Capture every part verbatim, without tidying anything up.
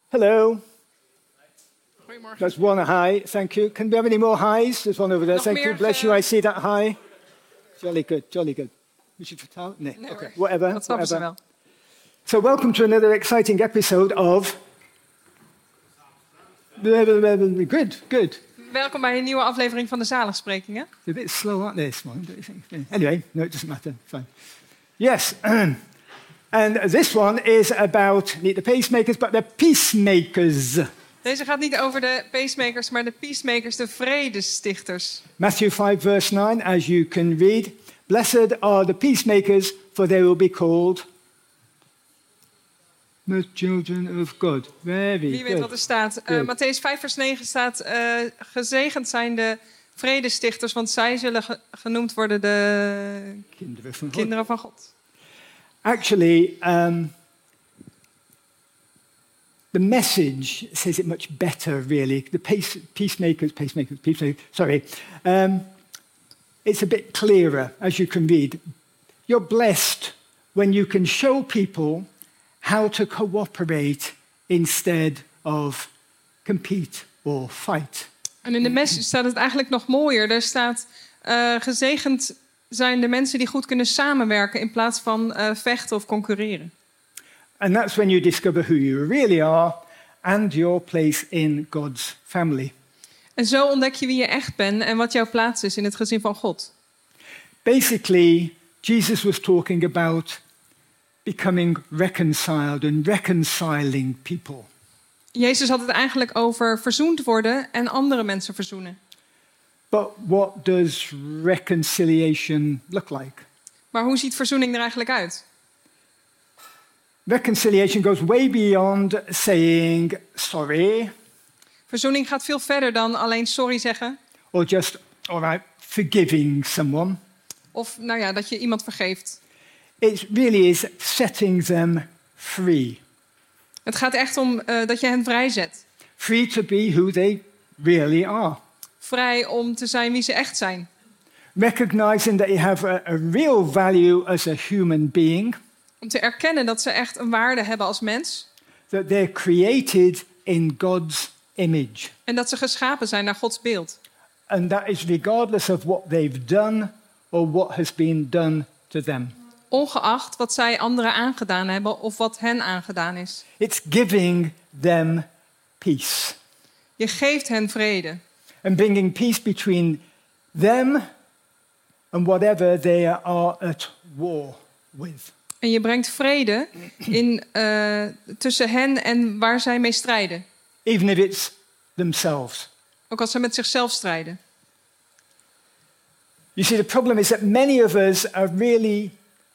Hello. Goedemorgen. That's one hi. Thank you. Can we have any more highs? There's one over there. Nog Thank meer, you. Bless uh, you. I see that high. Jolly good. Jolly good. We should vertalen? Nee. Nee, Okay. hoor. Whatever. Dat snappen ze whatever. wel. So welcome to another exciting episode of... Good, good. Welkom bij een nieuwe aflevering van de Zaligsprekingen. It's a bit slow, aren't they, this morning, don't you think? Anyway, no, it doesn't matter. Fine. Yes. And this one is about not the pacemakers, but the peacemakers. Deze gaat niet over de pacemakers, maar de peacemakers, de vredestichters. Matthew five, verse nine, as you can read. Blessed are the peacemakers, for they will be called the children of God. Very Wie weet good. wat er staat. Uh, Mattheüs vijf, vers negen staat... Uh, gezegend zijn de vredestichters, want zij zullen ge- genoemd worden de Kinderen van God. kinderen van God. Actually, um, the message says it much better, really. The pace, peacemakers, pacemakers, peacemakers, sorry. Um, it's a bit clearer, as you can read. You're blessed when you can show people how to cooperate instead of compete or fight. En in de message staat het eigenlijk nog mooier. Daar staat, uh, gezegend zijn de mensen die goed kunnen samenwerken in plaats van uh, vechten of concurreren. And that's when you discover who you really are and your place in God's family. En zo ontdek je wie je echt bent en wat jouw plaats is in het gezin van God. Basically, Jesus was talking about becoming reconciled and reconciling people. Jezus had het eigenlijk over verzoend worden en andere mensen verzoenen. But what does reconciliation look like? Maar hoe ziet verzoening er eigenlijk uit? Reconciliation goes way beyond saying sorry Verzoening gaat veel verder dan alleen sorry zeggen. or just, all right, forgiving someone. Of nou ja, dat je iemand vergeeft. It really is setting them free. Het gaat echt om uh, dat je hen vrijzet. Free to be who they really are. Vrij om te zijn wie ze echt zijn. Recognizing that you have a, a real value as a human being. Om te erkennen dat ze echt een waarde hebben als mens. That they're created in God's image. En dat ze geschapen zijn naar Gods beeld. And that is regardless of what they've done or what has been done to them. Ongeacht wat zij anderen aangedaan hebben of wat hen aangedaan is. It's giving them peace. Je geeft hen vrede. And bringing peace between them and whatever they are at war with. En je brengt vrede in, uh, tussen hen en waar zij mee strijden. Even if it's themselves. Ook als ze met zichzelf strijden. You see, the problem is that many of us are really,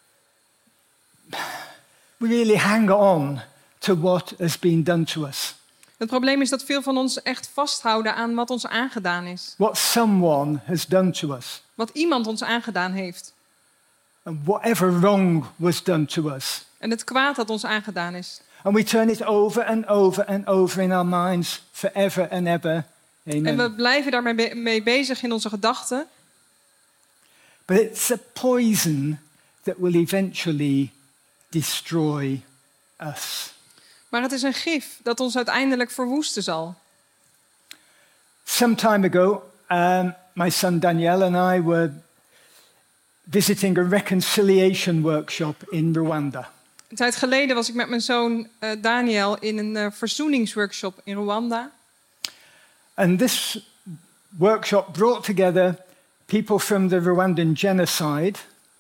we really hang on to what has been done to us. Het probleem is dat veel van ons echt vasthouden aan wat ons aangedaan is. What someone has done to us. Wat iemand ons aangedaan heeft. And whatever wrong was done to us. En het kwaad dat ons aangedaan is. And we turn it over and over and over in our minds forever and ever. Amen. En we blijven daarmee be- mee bezig in onze gedachten. But it's a poison that will eventually destroy us. Maar het is een gif dat ons uiteindelijk verwoesten zal. Some time ago, um, my son Daniel and I were visiting a reconciliation workshop in Rwanda. Een tijd geleden was ik met mijn zoon uh, Daniel in een uh, verzoeningsworkshop in Rwanda. And this workshop brought together people from the Rwandan genocide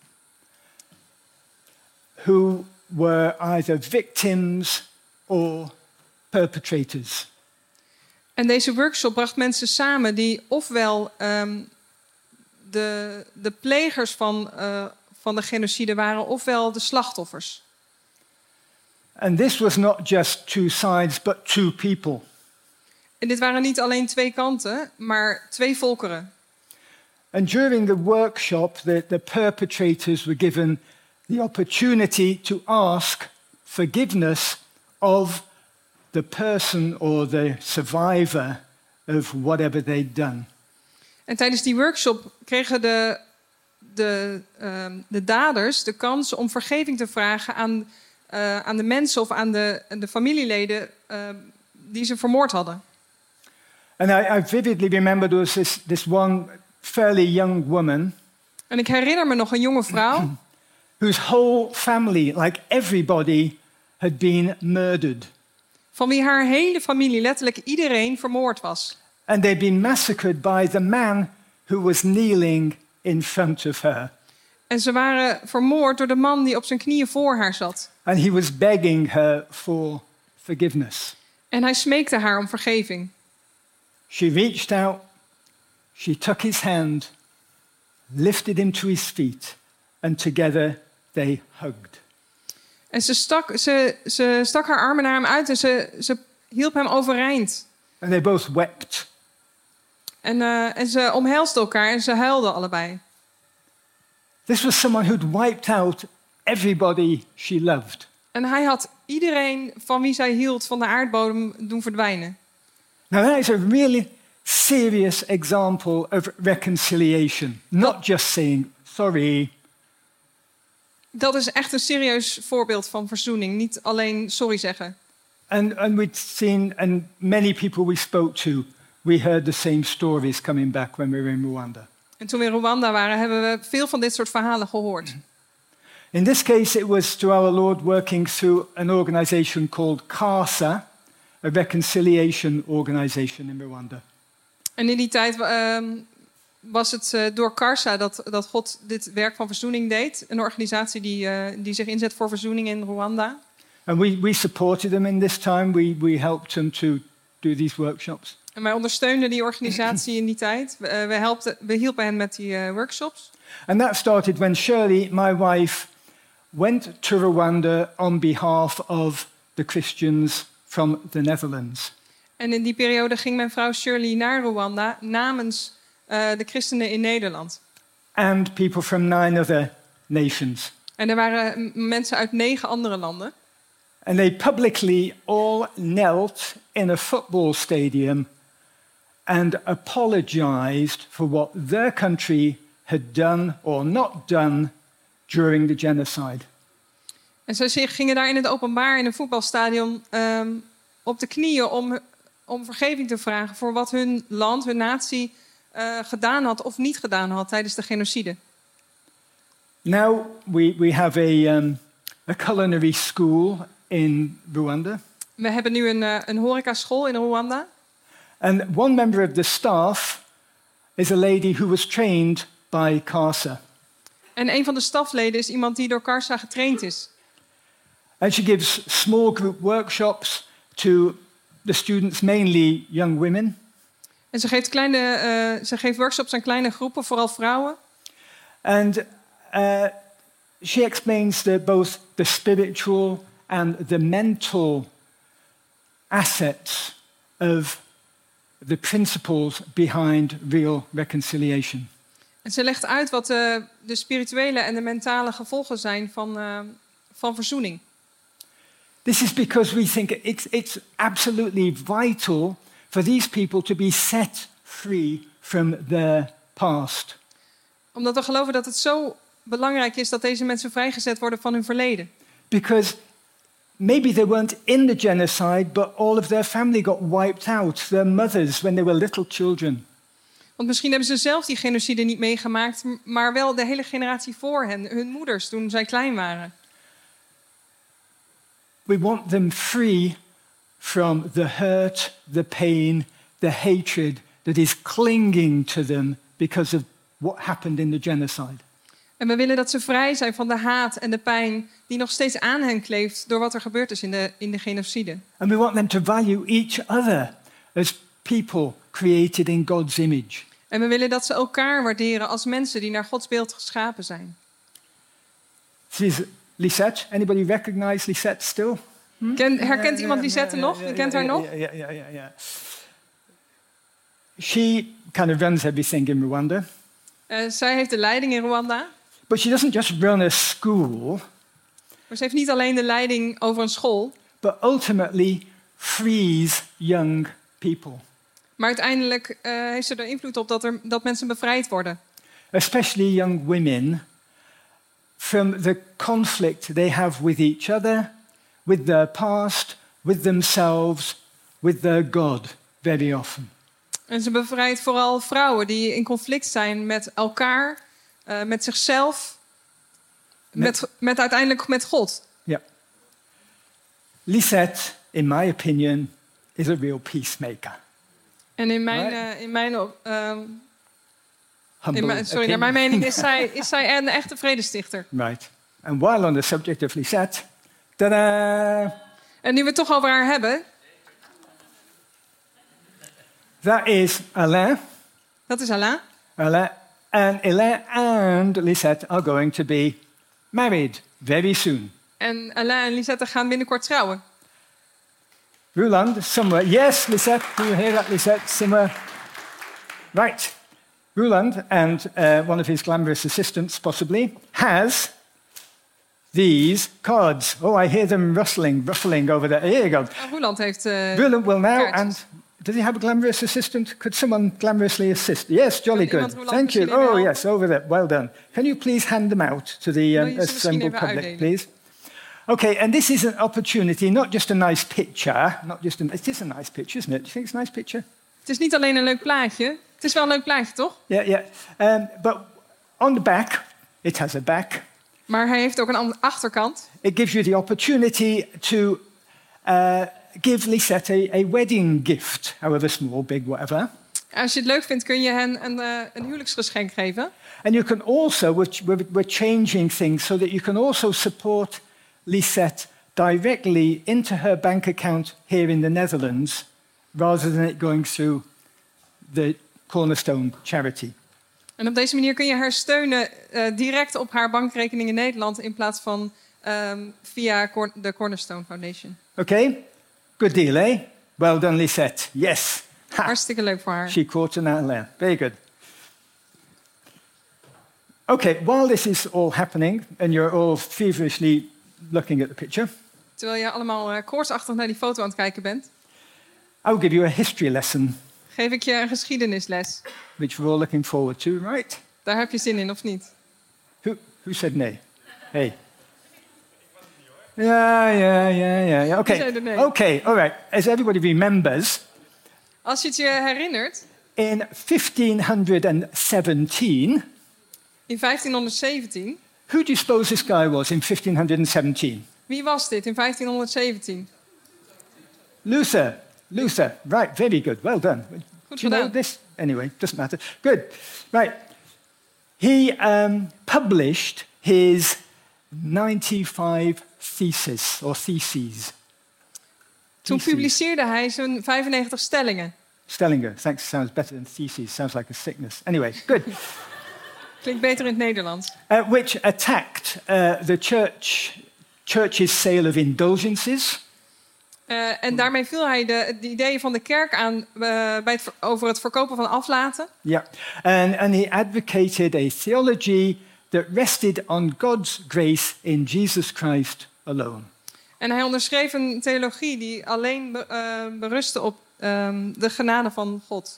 who were either victims or perpetrators. En deze workshop bracht mensen samen die ofwel um, de, de plegers van, uh, van de genocide waren, ofwel de slachtoffers. And this was not just two sides, but two people. En dit waren niet alleen twee kanten, maar twee volkeren. And during the workshop, the, the perpetrators were given the opportunity to ask forgiveness of the person or the survivor of whatever they'd done. En tijdens die workshop kregen de, de, uh, de daders de kans om vergeving te vragen aan, uh, aan de mensen of aan de, de familieleden uh, die ze vermoord hadden. And I, I vividly remember there was this, this one fairly young woman En ik herinner me nog een jonge vrouw whose whole family, like everybody, had been murdered. van wie haar hele familie, letterlijk iedereen, vermoord was. And they'd been massacred by the man who was kneeling in front of her. En ze waren vermoord door de man die op zijn knieën voor haar zat. And he was begging her for forgiveness. En hij smeekte haar om vergeving. She reached out, she took his hand, lifted him to his feet, and together they hugged. En ze stak, ze, ze stak haar armen naar hem uit en ze, ze hielp hem overeind. And they both wept. En, uh, en ze omhelsden elkaar en ze huilden allebei. This was someone who'd wiped out everybody she loved. En hij had iedereen van wie zij hield van de aardbodem doen verdwijnen. Now that is a really serious example of reconciliation. Not just saying sorry. Dat is echt een serieus voorbeeld van verzoening. Niet alleen sorry zeggen. And, and we'd seen, and many people we spoke to, we heard the same stories coming back when we were in Rwanda. En toen we in Rwanda waren, hebben we veel van dit soort verhalen gehoord. In this case, it was to our Lord working through an organization called CASA, a reconciliation organization in Rwanda. En in die tijd uh, was het uh, door CARSA dat, dat God dit werk van verzoening deed. Een organisatie die, uh, die zich inzet voor verzoening in Rwanda. And we, we supported them in this time. We, we helped them to do these workshops. En wij ondersteunden die organisatie in die tijd. We, uh, we, helpten, we hielpen hen met die uh, workshops. And that started when Shirley, my wife, went to Rwanda on behalf of the Christians from the Netherlands. En in die periode ging mijn vrouw Shirley naar Rwanda namens uh, de christenen in Nederland. And people from nine other nations. En er waren mensen uit negen andere landen. And they publicly all knelt in a football stadium and apologized for what their country had done or not done during the genocide. En ze gingen daar in het openbaar in een voetbalstadion um, op de knieën om, om vergeving te vragen voor wat hun land, hun natie uh, gedaan had of niet gedaan had tijdens de genocide. Now we, we have a, um, a culinary school in Rwanda. We hebben nu een, uh, een horecaschool in Rwanda. And one member of the staff is a lady who was trained by CASA. En een van de stafleden is iemand die door CARSA getraind is. And she gives small group workshops to the students, mainly young women. En ze geeft, kleine, uh, ze geeft workshops aan kleine groepen, vooral vrouwen. And uh, she explains the, both the spiritual and the mental assets of the principles behind real reconciliation. En ze legt uit wat de, de spirituele en de mentale gevolgen zijn van, uh, van verzoening. This is because we think it's, it's absolutely vital for these people to be set free from their past. Omdat we geloven dat het zo belangrijk is dat deze mensen vrijgezet worden van hun verleden. Because maybe they weren't in the genocide, but all of their family got wiped out, their mothers, when they were little children. Want misschien hebben ze zelf die genocide niet meegemaakt, maar wel de hele generatie voor hen, hun moeders, toen zij klein waren. We want them free from the hurt, the pain, the hatred that is clinging to them because of what happened in the genocide. En we willen dat ze vrij zijn van de haat en de pijn die nog steeds aan hen kleeft door wat er gebeurd is in de, in de genocide. And we want them to value each other as people created in God's image. En we willen dat ze elkaar waarderen als mensen die naar Gods beeld geschapen zijn. This is Lisette. Anybody recognize Lisette still? Hm? Ken, herkent iemand Lisette nog? Wie kent haar nog? Yeah, yeah, yeah, yeah, yeah. She kind of runs everything in Rwanda. Uh, zij heeft de leiding in Rwanda. But she doesn't just run a school. Maar ze heeft niet alleen de leiding over een school. But ultimately frees young people. Maar uiteindelijk uh, heeft ze er invloed op dat, er, dat mensen bevrijd worden. Especially young women from the conflict they have with each other, with their past, with themselves, with their God very often. En ze bevrijdt vooral vrouwen die in conflict zijn met elkaar, uh, met zichzelf, met, met, met uiteindelijk met God. Yeah. Lisette, in my opinion, is a real peacemaker. En in mijn, Right. uh, in mijn, uh, Humble in mijn, sorry, naar mijn mening is zij, is zij een echte vredestichter. Right. And while on the subject of Lisette, ta-da! En nu we het toch over haar hebben, That is Alain. dat is Alain. Alain and Alain and Lisette are going to be married very soon. En Alain en Lisette gaan binnenkort trouwen. Roland, somewhere. Yes, Lisette. Do you hear that, Lisette? Somewhere. Right. Roland and uh, one of his glamorous assistants, possibly, has these cards. Oh, I hear them rustling, ruffling over there. Here you go. Uh, Roland heeft... Uh, Roland will now, kaartjes. and does he have a glamorous assistant? Could someone glamorously assist? Yes, jolly Kan good. iemand Roland Thank you. misschien even Oh, helpen? yes, over there. Well done. Can you please hand them out to the Wil um, je ze misschien assembled even public, uitdelen? please? Okay, and this is an opportunity, not just a nice picture, not just a, it is a nice picture, isn't it? Do you think it's a nice picture? Het is niet alleen een leuk plaatje. Het is wel een leuk plaatje, toch? Yeah, yeah. Um, but on the back, it has a back. Maar hij heeft ook een andere achterkant. It gives you the opportunity to uh, give Lisette a, a wedding gift, however small, big, whatever. Als je het leuk vindt, kun je hen een, uh, een huwelijksgeschenk geven. And you can also, we're, we're, we're changing things so that you can also support Lisette directly into her bank account here in the Netherlands, rather than it going through the Cornerstone charity. En op deze manier kun je haar steunen uh, direct op haar bankrekening in Nederland in plaats van um, via Cor- de Cornerstone Foundation. Okay? Good deal, eh? Well done, Lisette. Yes. Ha. Hartstikke leuk voor haar. She caught an outlier. Very good. Okay, while this is all happening and you're all feverishly looking at the picture, Terwijl je allemaal uh, koortsachtig naar die foto aan het kijken bent, I'll give you a history lesson, geef ik je een geschiedenisles. which we're all looking forward to, right? Daar heb je zin in, of niet? Who, who said nay? Hey. Yeah, yeah, yeah, yeah, yeah. Okay. said nay? Okay, all right. As everybody remembers, Als je het je herinnert, in fifteen seventeen, in vijftienhonderdzeventien... who do you suppose this guy was in fifteen seventeen? Wie was dit in vijftienhonderdzeventien? Luther. Luther. Right, very good. Well done. Goed Do you know gedaan. this? Anyway, doesn't matter. Good. Right. He um, published his ninety-five theses, or theses. Toen Theses. publiceerde hij zijn vijfennegentig stellingen. Stellinger. Thanks. Sounds better than theses. Sounds like a sickness. Anyway, good. Klinkt beter in het Nederlands. uh, which attacked uh, the church, church's sale of indulgences. Uh, en daarmee viel hij de, de ideeën van de kerk aan uh, bij het, ver- over het verkopen van aflaten. Yeah. And, and he advocated a theology that rested on God's grace in Jesus Christ alone. En hij onderschreef een theologie die alleen be, uh, berustte op um, de genade van God.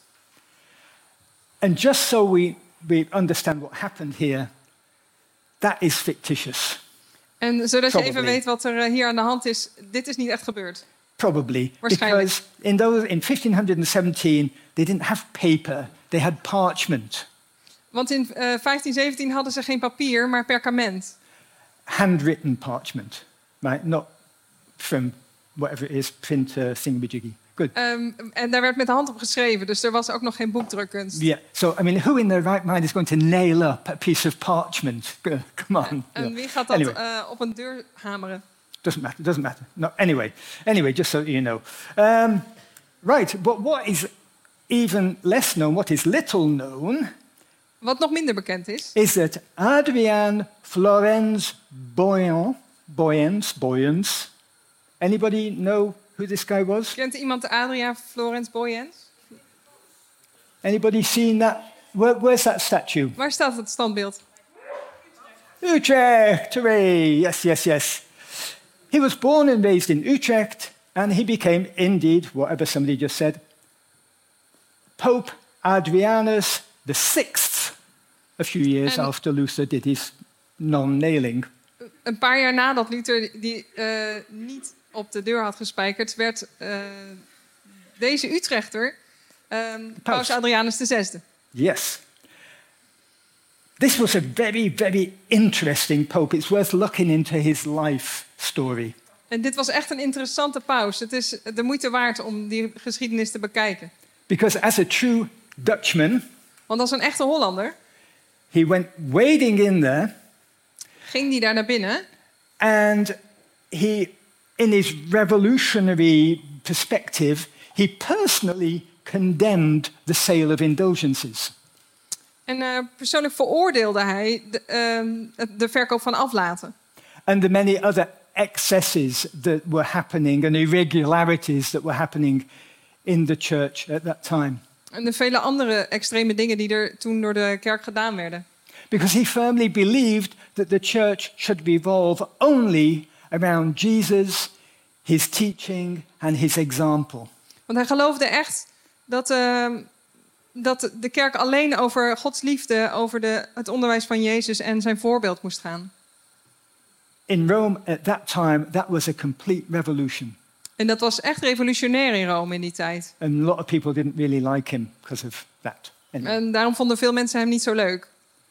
And just so we, we understand what happened here, that is fictitious. En zodat je even Probably. weet wat er uh, hier aan de hand is, dit is niet echt gebeurd. Probably. Waarschijnlijk. Because in, those, in fifteen seventeen, they didn't have paper, they had parchment, Want in uh, vijftien zeventien hadden ze geen papier, maar perkament. handwritten parchment, right? Not from whatever it is, printer thingamajiggy. Good. Um, en daar werd met de hand op geschreven, dus er was ook nog geen boekdrukkunst. Yeah. So, I mean, who in their right mind is going to nail up a piece of parchment? Go- Come on. En Yeah. wie gaat dat Anyway. uh, op een deur hameren? Doesn't matter. Doesn't matter. No. Anyway. Anyway, just so you know. Um, right. But what is even less known, what is little known, Wat nog minder bekend is, is that Adrien Florens Boyan, Boyens, Boyens. Anybody know who this guy was? kent iemand de Adria Florence Boyens? Anybody seen that? Where, where's that statue? Waar staat het standbeeld? Utrecht, hooray! Yes, yes, yes. He was born and raised in Utrecht, and he became, indeed, whatever somebody just said, Pope Adrianus the Sixth, a few years En- after Luther did his non-nailing. Een paar jaar nadat Luther die uh, niet op de deur had gespijkerd, werd uh, deze Utrechter, um, Paus. Paus Adrianus de zesde. Yes. This was a very, very interesting pope. It's worth looking into his life story. En dit was echt een interessante paus. Het is de moeite waard om die geschiedenis te bekijken. Because as a true Dutchman, Want als een echte Hollander he went wading in there ging hij daar naar binnen. and he, in his revolutionary perspective, he personally condemned the sale of indulgences. En uh, persoonlijk veroordeelde hij de, uh, de verkoop van aflaten. And the many other excesses that were happening and irregularities that were happening in the church at that time. En de vele andere extreme dingen die er toen door de kerk gedaan werden. Because he firmly believed that the church should revolve only around Jesus, his teaching and his example. Want hij geloofde echt dat, uh, dat de kerk alleen over Gods liefde, over de, het onderwijs van Jezus en zijn voorbeeld moest gaan. In Rome at that time, that was a complete revolution. En dat was echt revolutionair in Rome in die tijd. And a lot of people didn't really like him because of that. Anyway. En daarom vonden veel mensen hem niet zo leuk.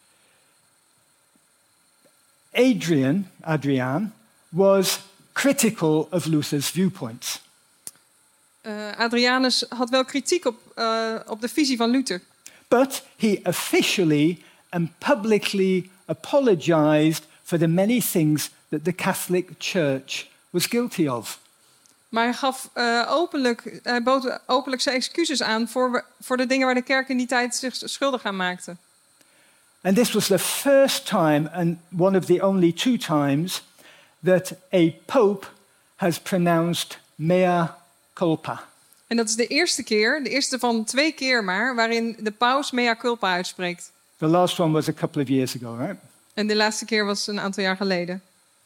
Adrian, Adrian, was critical of Luther's viewpoints. Uh, Adrianus had wel kritiek op, uh, op de visie van Luther. But he officially and publicly apologized for the many things that the Catholic Church was guilty of. Maar hij gaf uh, openlijk, hij bood openlijk zijn excuses aan voor, voor de dingen waar de kerk in die tijd zich schuldig aan maakte. And this was the first time and one of the only two times that a pope has pronounced mea culpa. En dat is de eerste keer, de eerste van twee keer maar, waarin de paus mea culpa uitspreekt. The last one was a couple of years ago, right? En de laatste keer was een aantal jaar geleden.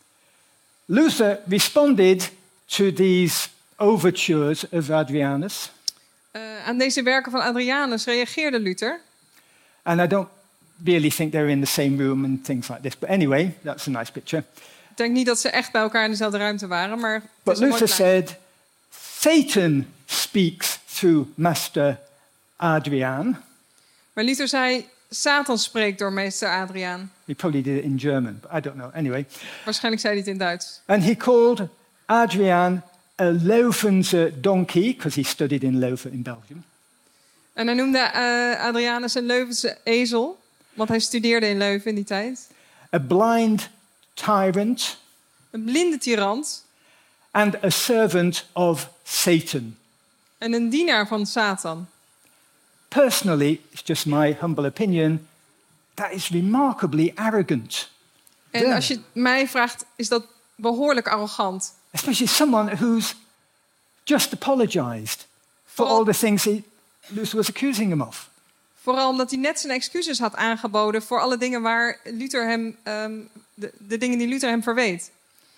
Luther responded to these overtures of Adrianus. Uh, aan deze werken van Adrianus reageerde Luther. And I don't really think they're in the same room and things like this. But anyway, that's a nice picture. Ik denk niet dat ze echt bij elkaar in dezelfde ruimte waren, maar het But is een mooi Luther plaatje. said, Satan speaks through Master Adrian. Maar Luther zei, Satan spreekt door meester Adriaan. He probably did it in German, but I don't know. Anyway. Waarschijnlijk zei hij het in Duits. And he called Adrian a Leuvense donkey, because he studied in Leuven in Belgium. En hij noemde uh, Adrianus een Leuvense ezel, want hij studeerde in Leuven in die tijd. A blind tyrant. Een blinde tirant. And a servant of Satan. En een dienaar van Satan. Personally, it's just my humble opinion, that is remarkably arrogant. En Yeah. als je mij vraagt, is dat behoorlijk arrogant. Especially someone who's just apologized for Vooral- all the things he, Luther was accusing him of. Vooral omdat hij net zijn excuses had aangeboden voor alle dingen waar Luther hem, um, de, de dingen die Luther hem verweet.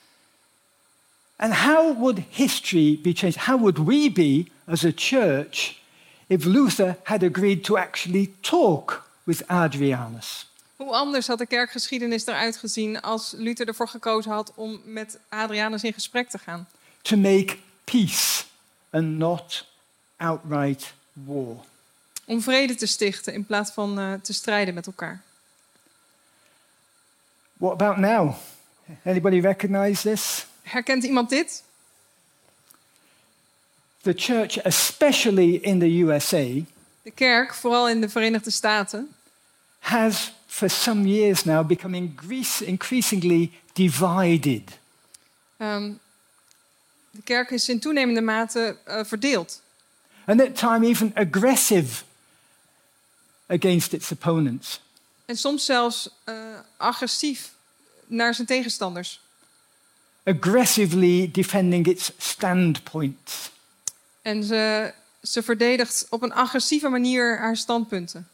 And how would history be changed? How would we be as a church if Luther had agreed to actually talk with Adrianus? Hoe anders had de kerkgeschiedenis eruit gezien als Luther ervoor gekozen had om met Adrianus in gesprek te gaan? To make peace and not outright war. Om vrede te stichten in plaats van uh, te strijden met elkaar. What about now? Anybody recognize this? Herkent iemand dit? The church, especially in the U S A, De kerk, vooral in de Verenigde Staten, has for some years now become increas- increasingly divided. um, de kerk is in toenemende mate uh, verdeeld. And at times even aggressive against its opponents. En soms zelfs uh, agressief naar zijn tegenstanders. Aggressively defending its standpoints. En ze, ze verdedigt op een agressieve manier haar standpunten.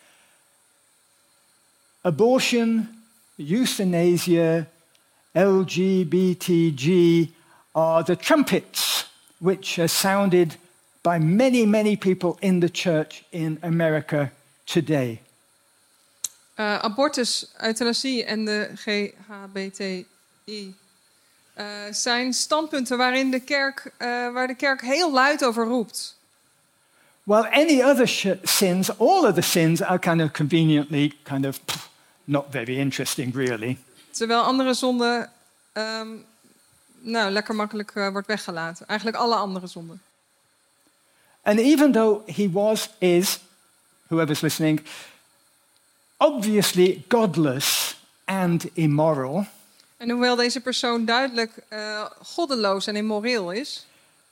Abortion, euthanasia, L G B T G are the trumpets which are sounded by many, many people in the church in America today. Uh, abortus, euthanasie en de G H B T I uh, zijn standpunten waarin de kerk, uh, waar de kerk heel luid over roept. while any other sh- sins, all other sins are kind of conveniently kind of pff, not very interesting, really. Terwijl andere zonden um, nou, lekker makkelijk uh, wordt weggelaten. Eigenlijk alle andere zonden. And even though he was, is, whoever's listening, obviously godless and immoral, en hoewel deze persoon duidelijk uh, goddeloos en immoreel is,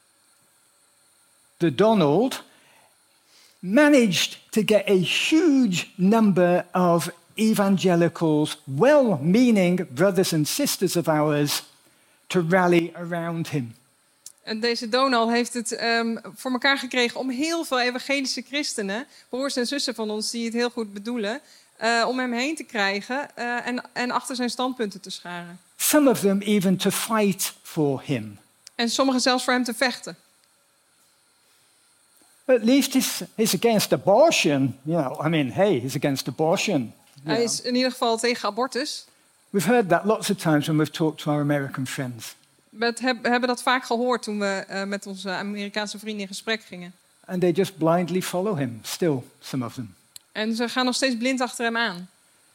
the Donald managed to get a huge number of evangelicals, well-meaning brothers and sisters of ours, to rally around him. En deze Donald heeft het um, voor elkaar gekregen om heel veel evangelische christenen, broers en zussen van ons die het heel goed bedoelen, uh, om hem heen te krijgen uh, en, en achter zijn standpunten te scharen. Some of them even to fight for him. En sommigen zelfs voor hem te vechten. But at least he's, he's against abortion. You know, I mean, hey, he's against abortion. Hij is in ieder geval tegen abortus. We've heard that lots of times when we've talked to our American friends. We hebben dat vaak gehoord toen we uh, met onze Amerikaanse vrienden in gesprek gingen. And they just blindly follow him, still, some of them. En ze gaan nog steeds blind achter hem aan.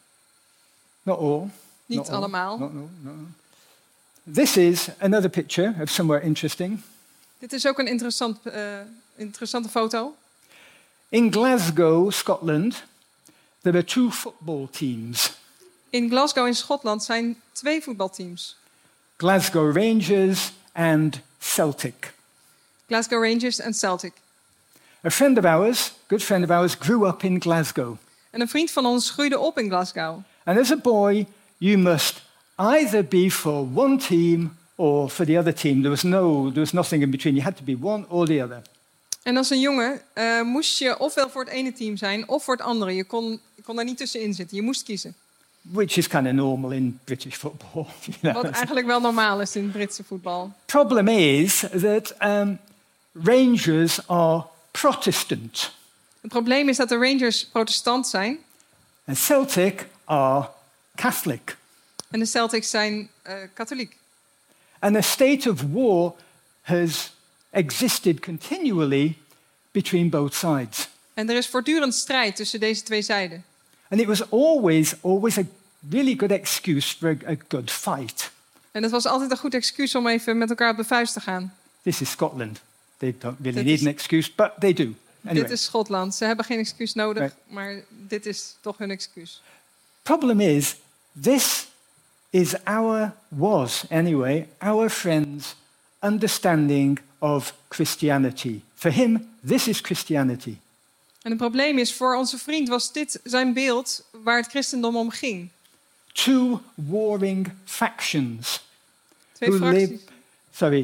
Not all. Niet Not allemaal. All. Not, no, no. This is another picture of somewhere interesting. Dit is ook een interessant, uh, interessante foto. In Glasgow, Scotland, there are two football teams. In Glasgow in Schotland zijn twee voetbalteams. Glasgow Rangers and Celtic. Glasgow Rangers en Celtic. A friend of ours, good friend of ours, grew up in Glasgow. En een vriend van ons groeide op in Glasgow. And as a boy, you must either be for one team or for the other team. There was no, there was nothing in between. You had to be one or the other. En als een jongen uh, moest je ofwel voor het ene team zijn of voor het andere. Je kon, je kon daar niet tussenin zitten. Je moest kiezen. Which is kind of normal in British football. You know? Wat eigenlijk wel normaal is in het Britse voetbal. Problem is that um, Rangers are Protestant. Het probleem is dat de Rangers protestant zijn. And Celtic are Catholic. En de Celtics zijn uh, katholiek. And a state of war has existed continually between both sides. En er is voortdurend strijd tussen deze twee zijden. And it was always, always a really good excuse for a, a good fight. En het was altijd een goed excuus om even met elkaar op de vuist te gaan. This is Scotland. They don't really Dit need is- an excuse, but they do. Anyway, Dit is Schotland. Ze hebben geen excuus nodig, Right. maar dit is toch hun excuus. problem is, this is our, was anyway, our friend's understanding of Christianity. For him, this is Christianity. En het probleem is, voor onze vriend was dit zijn beeld waar het christendom om ging. Two warring factions. Twee Who fracties. live, sorry.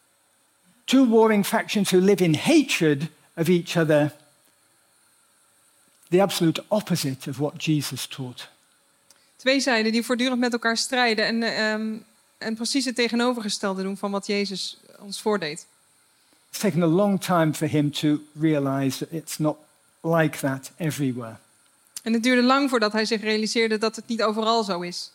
Two warring factions who live in hatred of each other. The absolute opposite of what Jesus taught. Twee zijden die voortdurend met elkaar strijden en, uh, um, en precies het tegenovergestelde doen van wat Jezus ons voordeed. It's taken a long time for him to realize that it's not like that everywhere. En het duurde lang voordat hij zich realiseerde dat het niet overal zo is.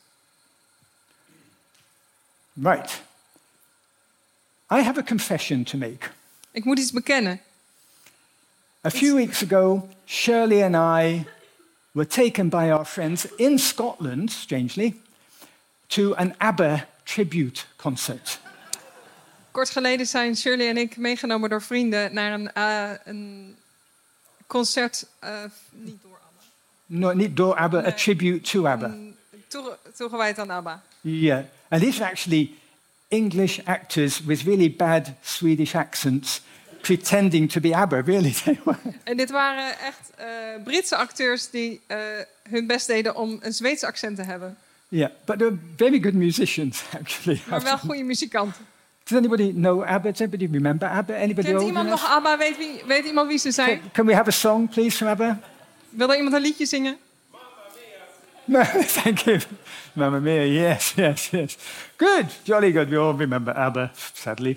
Right. I have a confession to make. Ik moet iets bekennen. A few weeks ago, Shirley and I were taken by our friends in Scotland, strangely, to an ABBA tribute concert. Kort geleden zijn Shirley en ik meegenomen door vrienden naar een, uh, een concert, uh, niet door ABBA, No, not door ABBA, a Nee. tribute to ABBA. een toege- toegewijd aan ABBA. Yeah. And these are actually English actors with really bad Swedish accents pretending to be ABBA, really. They were. En dit waren echt uh, Britse acteurs die uh, hun best deden om een Zweedse accent te hebben. Yeah, but they're very good musicians, actually. Maar wel goede muzikanten. Does anybody know ABBA? Does anybody remember ABBA? Anybody Kent old iemand enough? nog ABBA? Weet, wie, weet iemand wie ze zijn? Can, can we have a song, please, from ABBA? Wil er iemand een liedje zingen? No, thank you. Mamma Mia, yes, yes, yes. Good, jolly good. We all remember ABBA, sadly.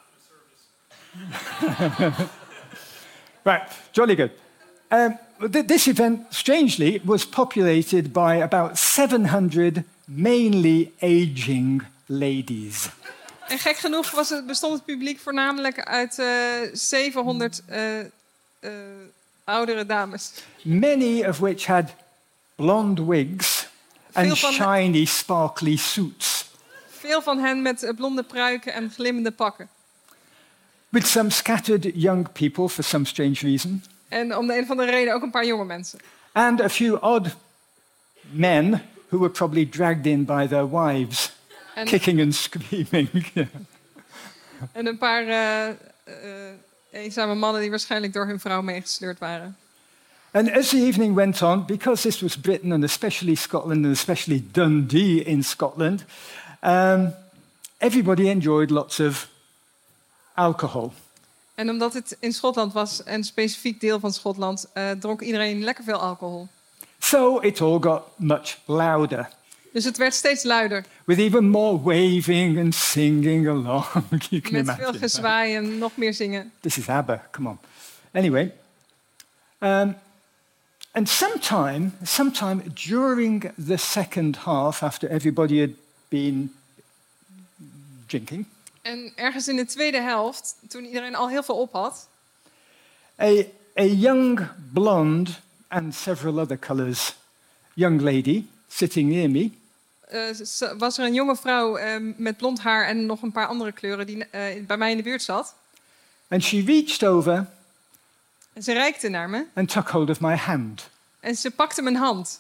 Right, jolly good. Um, th- this event, strangely, was populated by about seven hundred mainly aging ladies. En gek genoeg was het, bestond het publiek voornamelijk uit uh, zevenhonderd uh, uh, oudere dames. Many of which had blonde wigs and Veel van- shiny, sparkly suits, Veel van hen met uh, blonde pruiken en glimmende pakken. with some scattered young people for some strange reason, En om de een of andere reden ook een paar jonge mensen. and a few odd men who were probably dragged in by their wives, En, kicking and screaming. en een paar uh, uh, eenzame mannen die waarschijnlijk door hun vrouw meegesleurd waren. And as the evening went on, because this was Britain and especially Scotland and especially Dundee in Scotland, um, everybody enjoyed lots of alcohol. En omdat het in Schotland was, en specifiek deel van Schotland, uh, dronk iedereen lekker veel alcohol. So it all got much louder, Dus het werd steeds luider. with even more waving and singing along. You can Met veel imagine. gezwaai en nog meer zingen. This is ABBA, come on. Anyway, um, and sometime, sometime during the second half, after everybody had been drinking, En ergens in de tweede helft, toen iedereen al heel veel op had, a, a young blonde and several other colours young lady sitting near me uh, s- was er een jonge vrouw uh, met blond haar en nog een paar andere kleuren die uh, bij mij in de buurt zat. and she reached over En ze reikte naar me and took hold of my hand. en ze pakte mijn hand.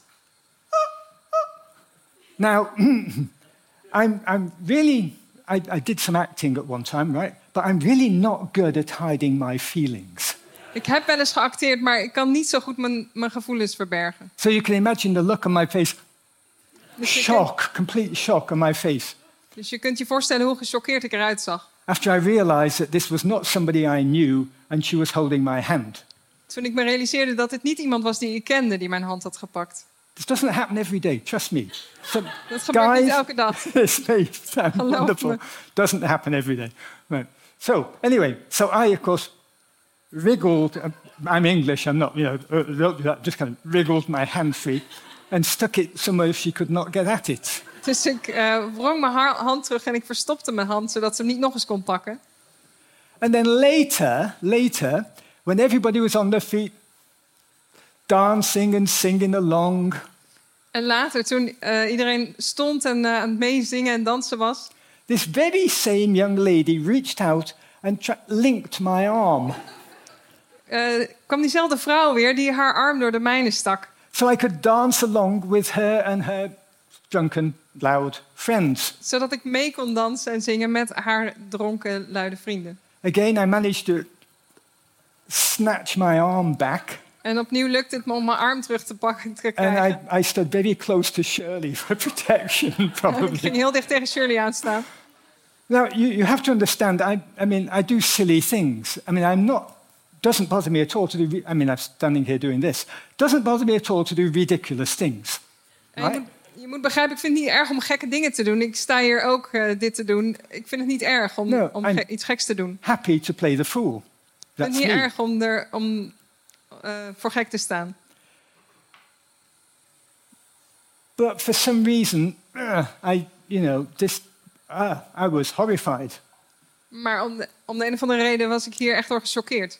Now, I'm, I'm really, I, I did some acting at one time, right? But I'm really not good at hiding my feelings. Ik heb wel eens geacteerd, maar ik kan niet zo goed mijn, mijn gevoelens verbergen. So you can imagine the look on my face, Dus je, kunt, shock, complete shock on my face. dus je kunt je voorstellen hoe gechoqueerd ik eruit zag. After I realized that this was not somebody I knew and she was holding my hand. Toen ik me realiseerde dat het niet iemand was die ik kende die mijn hand had gepakt. This doesn't happen every day, trust me. So, Dat gebeurt guys, niet elke dag. this may sound Geloof wonderful. me. Doesn't happen every day. Right. So, anyway, so I, of course, wriggled. uh, I'm English, I'm not, you know, uh, just kind of wriggled my hand free and stuck it somewhere she could not get at it. Dus ik uh, wrong mijn haar- hand terug en ik verstopte mijn hand zodat ze hem niet nog eens kon pakken. And then later, later, when everybody was on their feet, dancing and singing along, En later, toen uh, iedereen stond en uh, aan het meezingen en dansen was, this very same young lady reached out and tra- linked my arm uh, kwam diezelfde vrouw weer die haar arm door de mijne stak. so I could dance along with her and her drunken, loud friends. Zodat ik mee kon dansen en zingen met haar dronken, luide vrienden. Again, I managed to snatch my arm back, En opnieuw lukte het me om mijn arm terug te pakken te and krijgen. I, I stood very close to Shirley for protection, En ik ging probably. heel dicht tegen Shirley aanstaan. Now, you, you have to understand, I, I mean, I do silly things. I mean, I'm not, doesn't bother me at all to do, re- I mean, I'm standing here doing this. Doesn't bother me at all to do ridiculous things. En je, Right? moet, je moet begrijpen, ik vind het niet erg om gekke dingen te doen. Ik sta hier ook uh, dit te doen. Ik vind het niet erg om, No, om I'm- ge- iets geks te doen. Happy to play the fool. Ik vind That's het niet me. erg om, er, om uh, voor gek te staan. But for some reason, uh, I, you know, this, uh, I was horrified. Maar om de, om de een of andere reden was ik hier echt door gechoqueerd.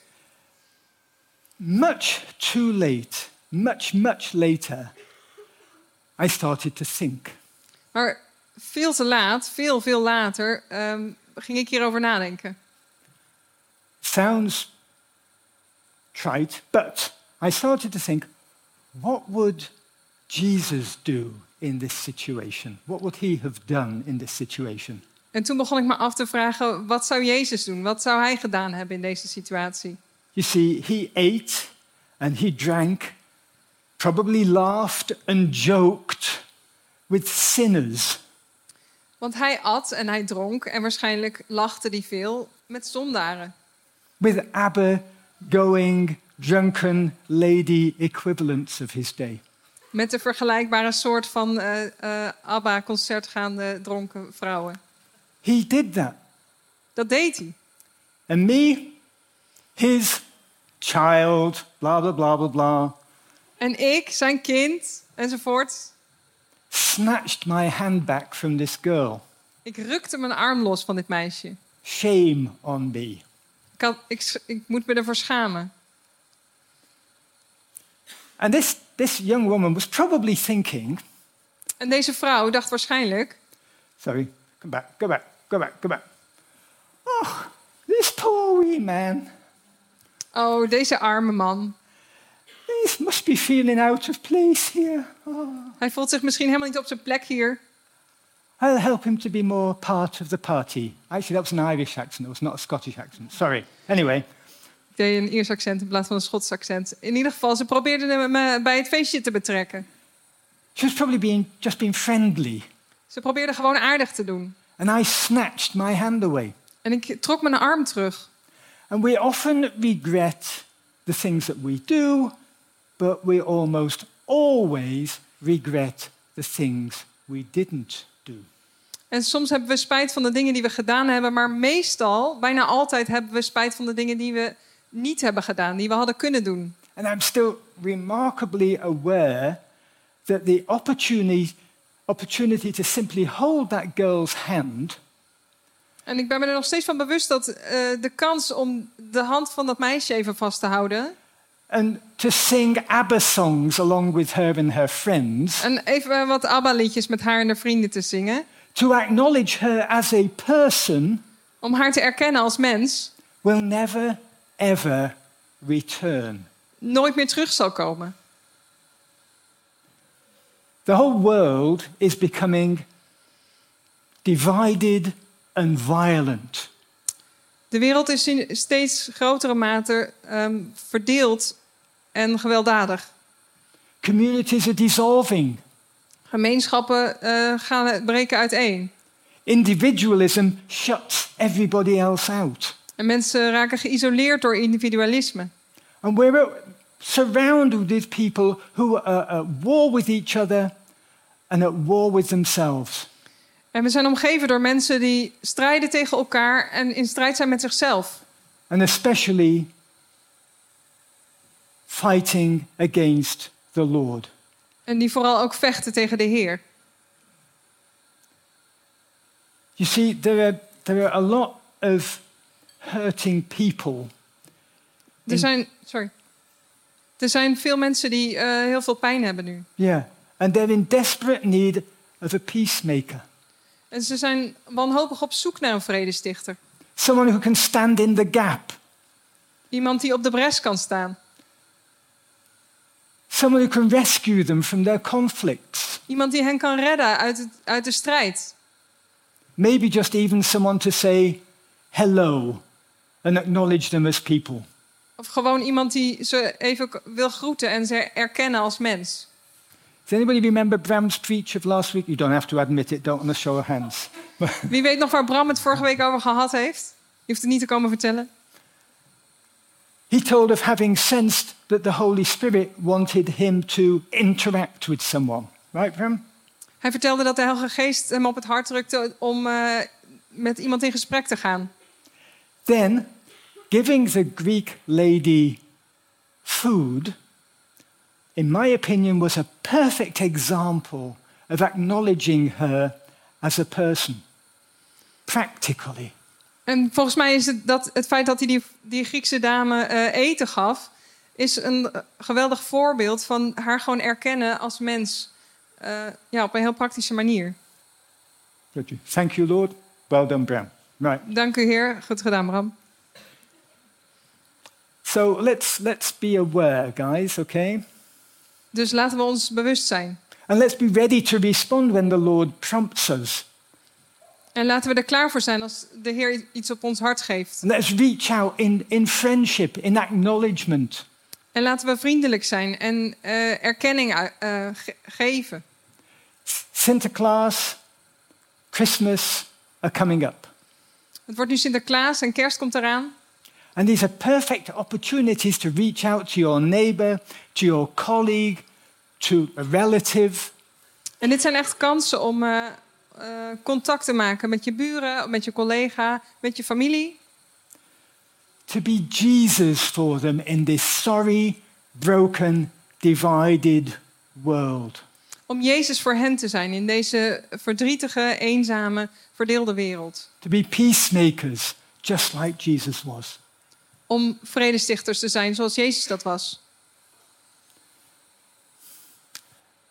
Much too late, much, much later, I started to think. Maar veel te laat, veel, veel later, um, ging ik hierover nadenken. Sounds trite, but I started to think, what would Jesus do in this situation? What would he have done in this situation? En toen begon ik me af te vragen, wat zou Jezus doen? Wat zou hij gedaan hebben in deze situatie? You see, he ate and he drank, probably laughed and joked with sinners. Want hij at en hij dronk en waarschijnlijk lachte hij veel met zondaren. With ABBA-going, drunken lady equivalents of his day. Met de vergelijkbare soort van uh, uh, ABBA-concertgaande dronken vrouwen. He did that. Dat deed hij. And me, his child, blah, blah, blah, blah, blah, En ik, zijn kind, enzovoort. snatched my hand back from this girl. Ik rukte mijn arm los van dit meisje. Shame on me. Ik, had, ik, sch- ik moet me ervoor schamen. And this, this young woman was probably thinking, En deze vrouw dacht waarschijnlijk... sorry, come back, go back, go back, go back. Oh, this poor wee man. Oh, deze arme man. He must be feeling out of place here. Oh. Hij voelt zich misschien helemaal niet op zijn plek hier. I'll help him to be more part of the party. Actually, that was an Irish accent. It was not a Scottish accent. Sorry. Anyway. Ik deed een Iers accent in plaats van een Schots accent. In ieder geval, ze probeerde hem me bij het feestje te betrekken. She was probably being, just being friendly. Ze probeerde gewoon aardig te doen. And I snatched my hand away. En ik trok mijn arm terug. And we often regret the things that we do, but we almost always regret the things we didn't do. En soms hebben we spijt van de dingen die we gedaan hebben, maar meestal, bijna altijd, hebben we spijt van de dingen die we niet hebben gedaan, die we hadden kunnen doen. And I'm still remarkably aware that the opportunity, opportunity to simply hold that girl's hand. En ik ben me er nog steeds van bewust dat uh, de kans om de hand van dat meisje even vast te houden. And to sing ABBA songs along with her and her friends. En even wat ABBA-liedjes met haar en haar vrienden te zingen. To acknowledge her as a person. Om haar te erkennen als mens. Will never ever return. Nooit meer terug zal komen. The whole world is becoming divided and violent. De wereld is in steeds grotere mate um, verdeeld en gewelddadig. Communities are dissolving. Gemeenschappen uh, gaan breken uiteen. Individualism shuts everybody else out. En mensen raken geïsoleerd door individualisme. And we're surrounded with people who are at war with each other and at war with themselves. En we zijn omgeven door mensen die strijden tegen elkaar en in strijd zijn met zichzelf. And especially fighting against the Lord. En die vooral ook vechten tegen de Heer. You see, there are, there are a lot of hurting people. Er zijn, sorry. Er zijn veel mensen die uh, heel veel pijn hebben nu. Yeah, and they're in desperate need of a peacemaker. En ze zijn wanhopig op zoek naar een vredestichter. Someone who can stand in the gap. Iemand die op de bres kan staan. Someone who can rescue them from their conflicts. Iemand die hen kan redden uit, het, uit de strijd. Maybe just even someone to say hello and acknowledge them as people. Of gewoon iemand die ze even wil groeten en ze erkennen als mens. Does anybody remember Bram's preach of last week? You don't have to admit it, don't want to show of hands. Wie weet nog waar Bram het vorige week over gehad heeft? Je hoeft het niet te komen vertellen. He told of having sensed that the Holy Spirit wanted him to interact with someone. Right, Bram? Hij vertelde dat de Heilige Geest hem op het hart drukte om uh, met iemand in gesprek te gaan. Then, giving the Greek lady food, in my opinion, was a perfect example of acknowledging her as a person, practically. En volgens mij is het, dat, het feit dat hij die, die Griekse dame uh, eten gaf, is een geweldig voorbeeld van haar gewoon erkennen als mens. Uh, ja, op een heel praktische manier. Thank you, Lord. Well done, Bram. Right. Dank u, Heer. Goed gedaan, Bram. So let's let's be aware, guys. Okay. Dus laten we ons bewust zijn. And let's be ready to respond when the Lord prompts us. En laten we er klaar voor zijn als de Heer iets op ons hart geeft. And let's reach out in in friendship, in acknowledgement. En laten we vriendelijk zijn en uh, erkenning uh, ge- geven. Sinterklaas, Christmas are coming up. Het wordt nu Sinterklaas en kerst komt eraan. And these are perfect opportunities to reach out to your neighbor, to your colleague, to a relative. En dit zijn echt kansen om uh, uh, contact te maken met je buren, met je collega, met je familie. To be Jesus for them in this sorry, broken, divided world. Om Jezus voor hen te zijn in deze verdrietige, eenzame, verdeelde wereld. To be peacemakers, just like Jesus was. Om vredestichters te zijn zoals Jezus dat was.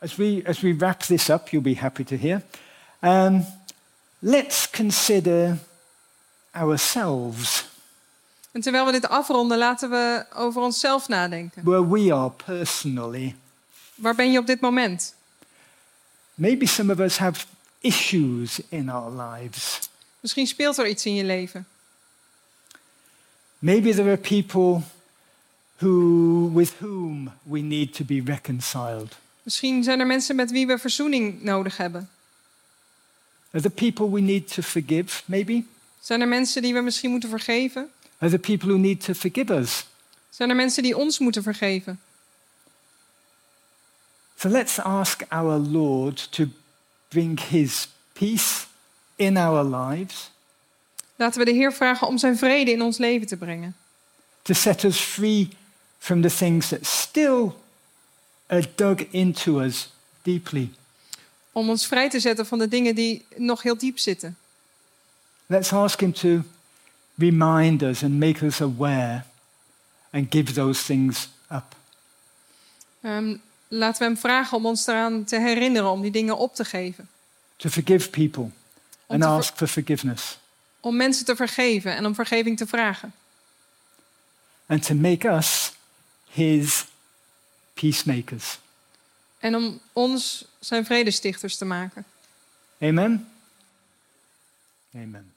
as we, as we wrap this up, you'll be happy to hear, um, let's consider ourselves. En terwijl we dit afronden, laten we over onszelf nadenken. Where we are personally. Waar ben je op dit moment? Maybe some of us have issues in our lives. Misschien speelt er iets in je leven. Maybe there are people who, with whom we need to be reconciled. Misschien zijn er mensen met wie we verzoening nodig hebben. Are there people we need to forgive, maybe? Zijn er mensen die we misschien moeten vergeven? Are there people who need to forgive us? Zijn er mensen die ons moeten vergeven? So let's ask our Lord to bring his peace in our lives. Laten we de Heer vragen om zijn vrede in ons leven te brengen. To set us free from the things that still are dug into us deeply. Om ons vrij te zetten van de dingen die nog heel diep zitten. Let's ask him to remind us and make us aware and give those things up. Um, laten we hem vragen om ons eraan te herinneren om die dingen op te geven. To forgive people and te ver- ask for forgiveness. Om mensen te vergeven en om vergeving te vragen. And to make us his peacemakers. En om ons zijn vredestichters te maken. Amen? Amen.